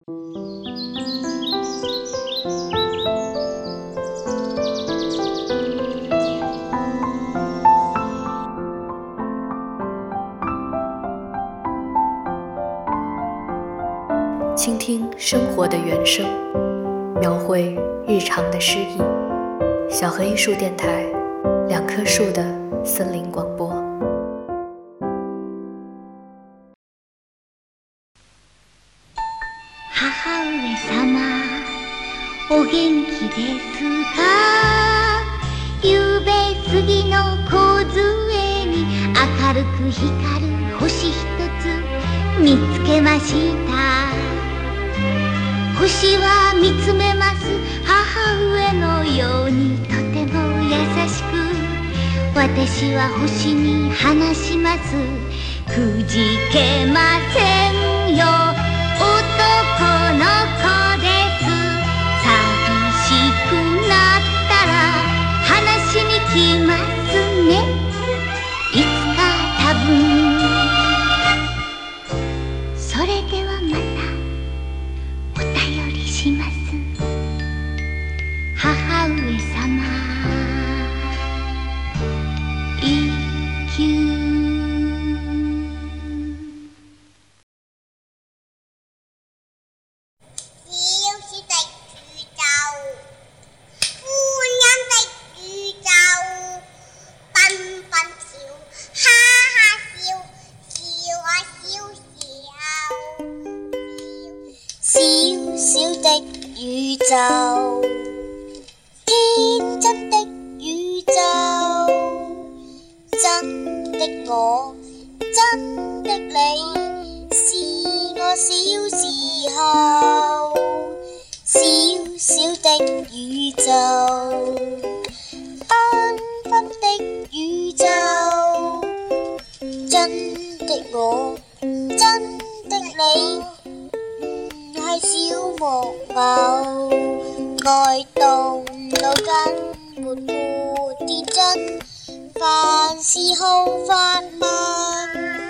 倾听生活的原声，描绘日常的诗意。小河艺术电台，2棵树的森林广播。 母上お元気ですか？ゆうべ過ぎの梢に明るく光る星一つ見つけました。星は見つめます母上のようにとても優しく、私は星に話します。くじけませんよ、男の子です。寂しくなったら話しに来ますね。いつか多分。それではまたお便りします。母上様、一休。 宇宙，天真的宇宙，真的我，真的你，是我小時候，小小的宇宙，繽紛的宇宙，真的我，真的你。係小木偶，愛動腦筋，活潑天真，凡事好發問，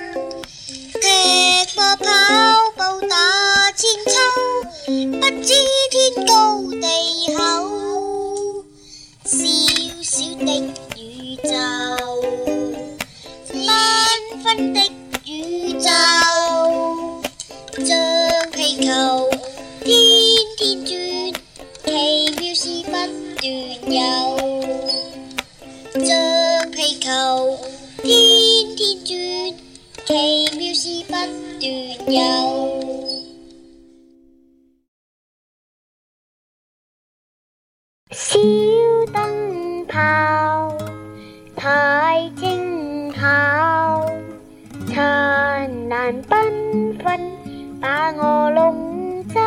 踢波跑步打千秋，不知天高地厚，小小的宇宙，繽紛的宇宙，像氣球天天轉，奇妙事不斷有，像氣球天天轉，奇妙事不斷有。 小燈泡太精巧，燦爛繽紛把我籠罩，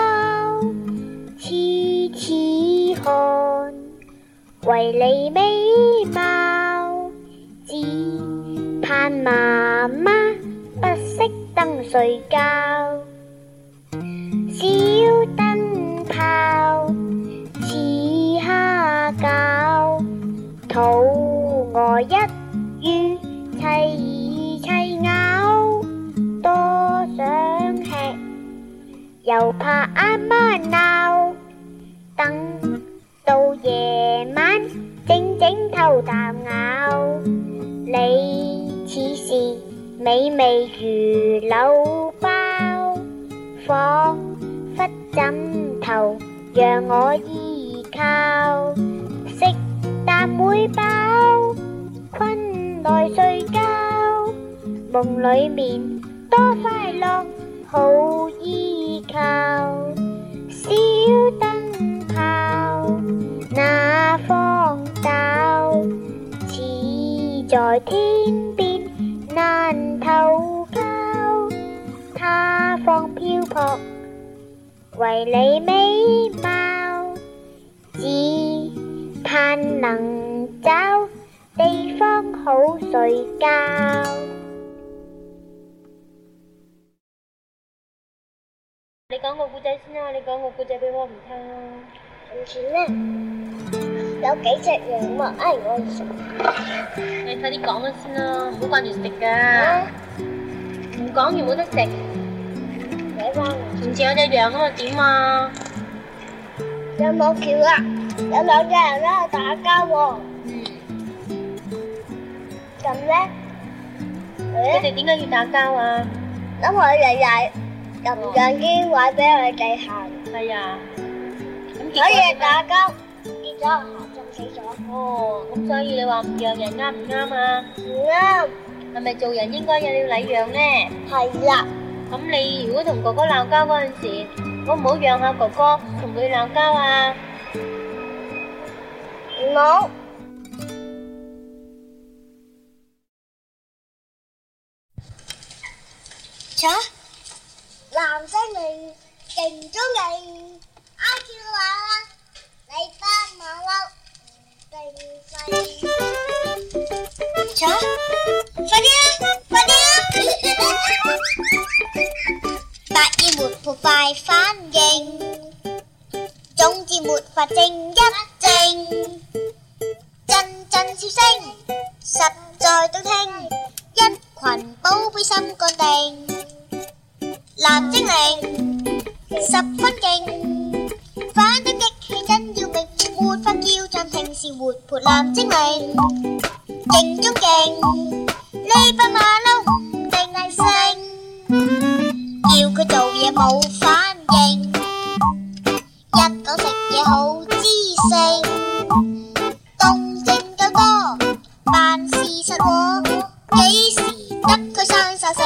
痴痴看，為你美貌，只盼媽媽不熄燈睡覺。小燈泡似蝦餃，肚餓一於齊齊咬，多想吃又怕阿媽鬧，等到夜晚靜靜偷啖咬，你似是美味如柳包，彷彿枕頭讓我依靠，食啖會飽，困來睡覺，夢裡面多快樂好依靠。小燈泡那荒島，似在天邊難投靠，他方漂泊為你美貌，只盼能找地方好睡覺。你講個故仔先啦，你講個故仔俾我唔聽啦。從前呢，有幾隻羊啊，我唔食。你快啲講啦先啦，好掛住食噶。唔講完冇得食。 俾翻我。 上次有隻羊咁又點啊？ 有冇橋啊？有兩隻人喺度打交喎。咁咧？ 佢哋點解要打交啊？ 因為日日撳緊啲位俾佢哋行。 係啊。咁所以打交跌咗落河，浸死咗。 哦，咁所以你話唔讓人啱唔啱啊？ 唔啱。 係咪做人應該有禮讓咧？ 係啦。 咁你如果同哥哥鬧交嗰陣時，好唔好讓下哥哥同佢鬧交啊？ 唔好。瞧，藍精靈勁中意IQ啊！你班馬騮定細？瞧，快啲啊！快啲啊！百厭沒破快反應，總之沒法靜一靜，陣陣笑聲實在動聽，一群寶貝心肝定。藍精靈十分勁，反對激氣真要命，沒法叫暫停是活潑藍精靈，勁中勁，呢班馬騮唔定係性，叫佢做嘢冇反應，一講食嘢好知性，動靜夠多，辦事實喎，幾時得佢生晒性？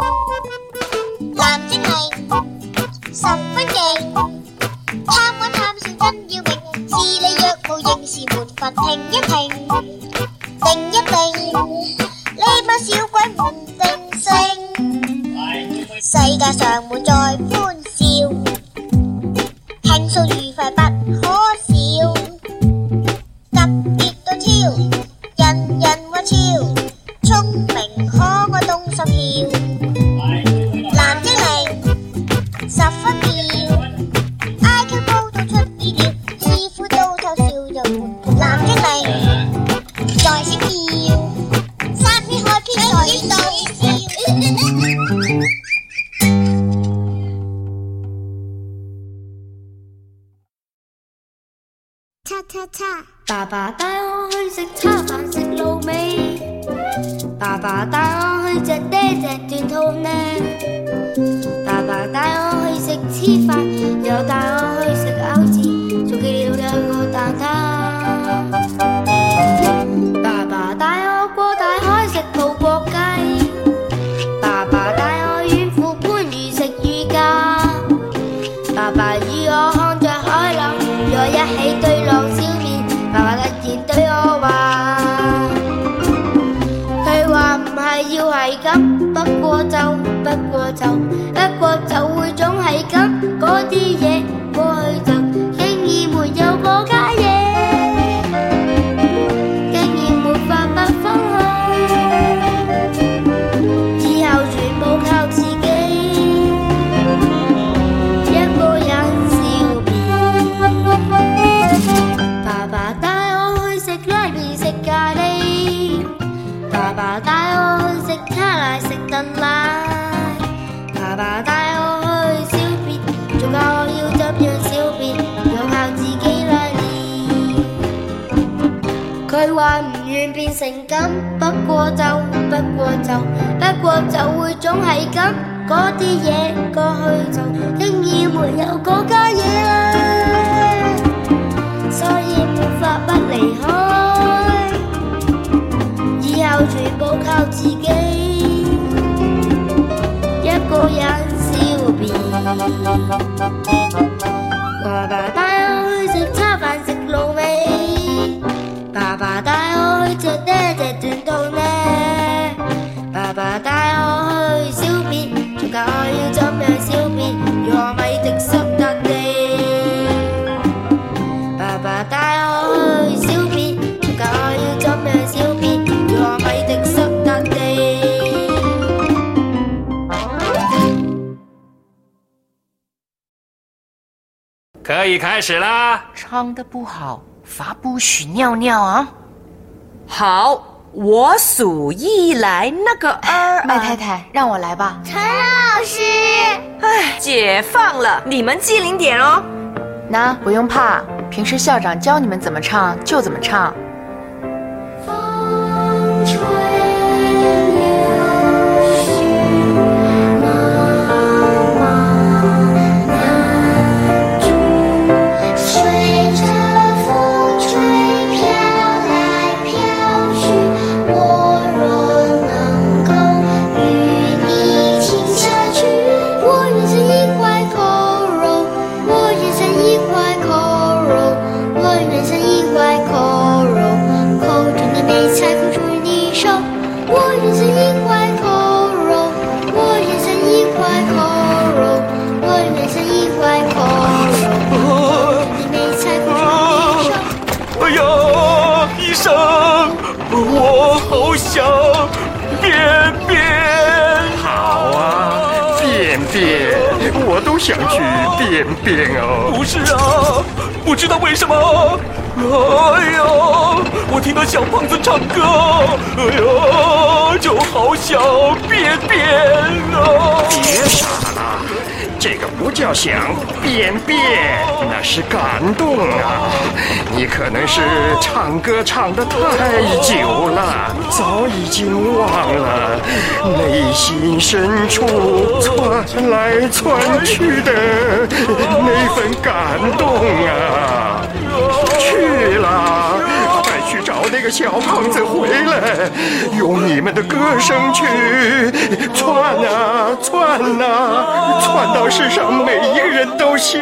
藍精靈十分勁，貪玩貪笑真要命，是你若無應是沒法停一停，定一定，呢班小鬼唔定性，世界上滿載歡笑，輕鬆愉快不可少，特別對超，人人話超，聰明可愛動手巧。藍精靈十分妙 ，IQ 高到出意料，師傅都偷笑又活潑。藍精靈在閃耀，山邊海邊在度笑。 叉叉叉， 爸爸帶我去食叉飯食滷味，爸爸帶我去隻爹隻斷肚呢，爸爸帶我去食黐飯，又帶我去食餃子，仲記了有個蛋撻。爸爸帶我過大海食葡國雞，爸爸帶我遠赴番禺食乳鴿，爸爸與我看着海浪，與我一起對浪消面，爸爸突然對我話，佢話唔係要係咁，不過就會總係咁，嗰啲嘢過去就經已沒有嗰家嘢，經已沒法不分開，以後全部靠自己，一個人笑面。爸爸帶我去食拉麵食咖喱，爸爸帶我去食卡拉食燉奶，爸爸帶我去小便，仲教我要怎樣小便，要靠自己來練。佢話唔願變成咁，不過就會總係咁，嗰啲嘢過去就經已沒有嗰家嘢啦，所以沒法不離開，以後全部靠自己，一個人笑遍。爸爸帶我去食叉飯食滷味，爸爸帶我去隻爹隻斷肚呢，爸爸帶我去小便，仲教我要怎樣小便，讓我咪滴濕笪地。爸爸帶我去小便，仲教我要怎樣小便，讓我咪滴濕笪地。 可以開始啦！ 唱得不好，罰不許尿尿啊！ 好，我數一來那個二。 麥太太，讓我來吧。 陳老师。 哎，解放了，你们机灵点哦。 那不用怕，平时校长教你们怎么唱就怎么唱。 风吹我好想便便。 好啊，便便，我都想去便便哦。 不是啊，不知道为什么，哎呀，我听到小胖子唱歌，哎呀，就好想便便啊。 别傻了，这个不叫想便便，那是感动啊！你可能是唱歌唱得太久了，早已经忘了内心深处窜来窜去的那份感动啊！去了，快去找那个小胖子回来，用你们的歌声去窜啊窜啊，窜到世上每一个人都想。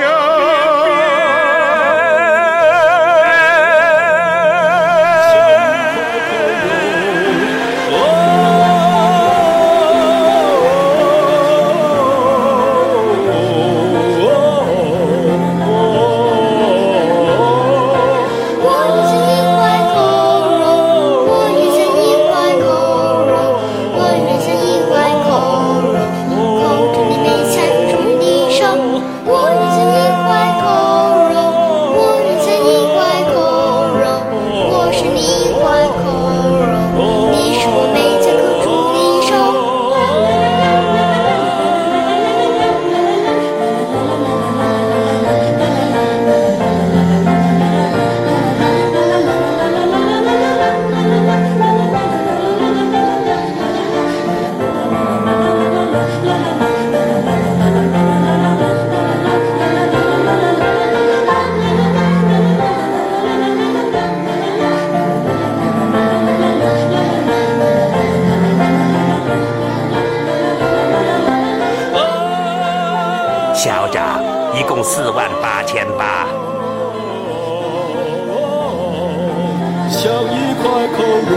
校长，一共48800。 像一块烤肉。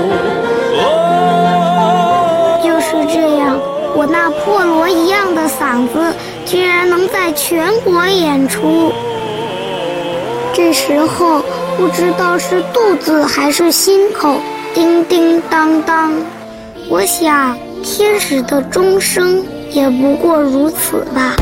就是这样，我那破锣一样的嗓子居然能在全国演出。这时候不知道是肚子还是心口叮叮当当，我想天使的钟声也不过如此吧。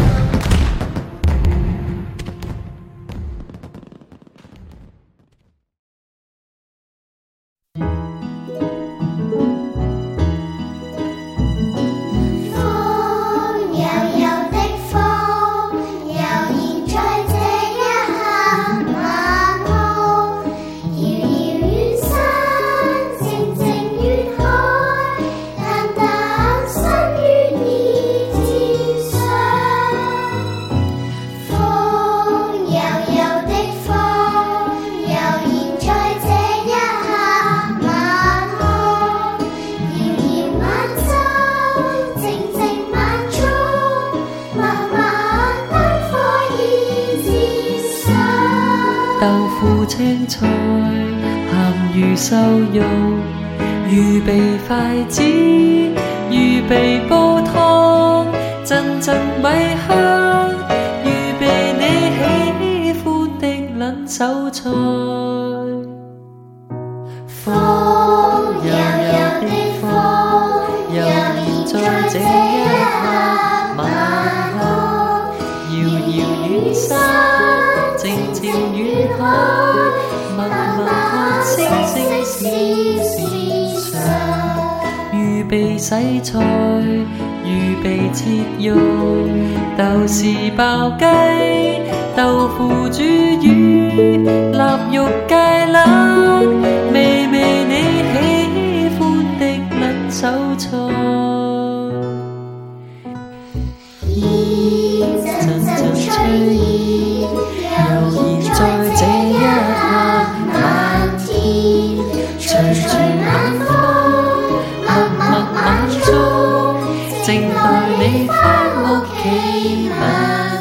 豆腐青菜鹹魚瘦肉，預備筷子，預備煲湯，陣陣米香，預備你喜歡的撚手菜。風柔柔的風，悠然在這一刻晚空，遙遙遠山。靜靜遠海，默默看星星閃閃上，預備洗菜，預預備切肉，豆豉爆雞、豆腐煮魚、臘肉芥辣，味味你喜歡的撚手菜。陣陣吹意，又現在這一刻，漫天隨住晚風，默默眼中，靜待你返屋企。